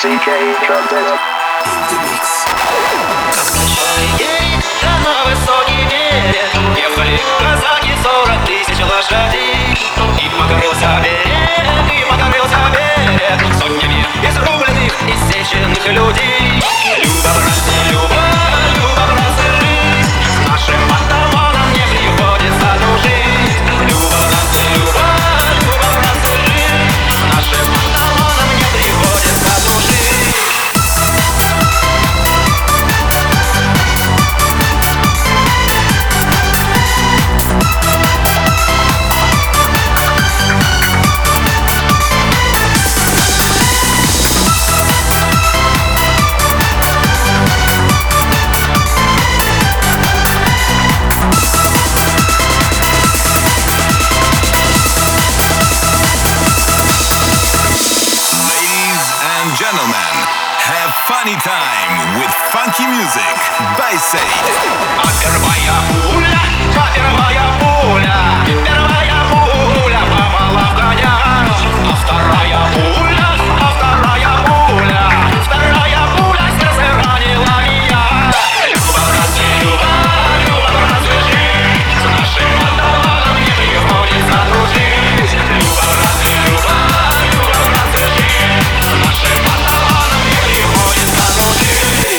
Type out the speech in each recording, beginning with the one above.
CK Trumpet. На высокий берег ехали казаки, 40 тысяч лошадей. И покорился берег сотнями изрубленных, иссеченных людей. Люба, братцы, Люба, братцы, жизнь с нашим атаманом не приходится дружить. Люба, братцы, жизнь с нашим атаманом не приходится дружить. Gentlemen, have funny time with funky music by Said. А первая пуля попала в коня, а вторая пуля сердце ранила меня. Люба, братцы, жизнь с нашим атаманом не приходится дружить. Люба, братцы, жизнь с нашим атаманом не приходится дружить.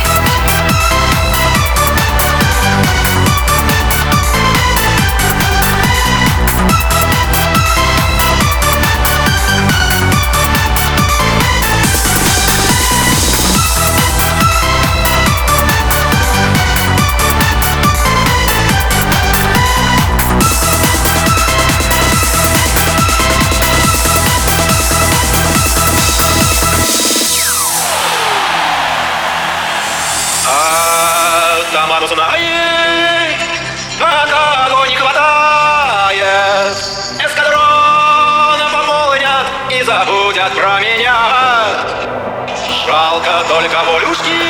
Атаман узнает, а кого не хватает. Эскадрона помолвнят и забудят про меня. Жалко только волюшки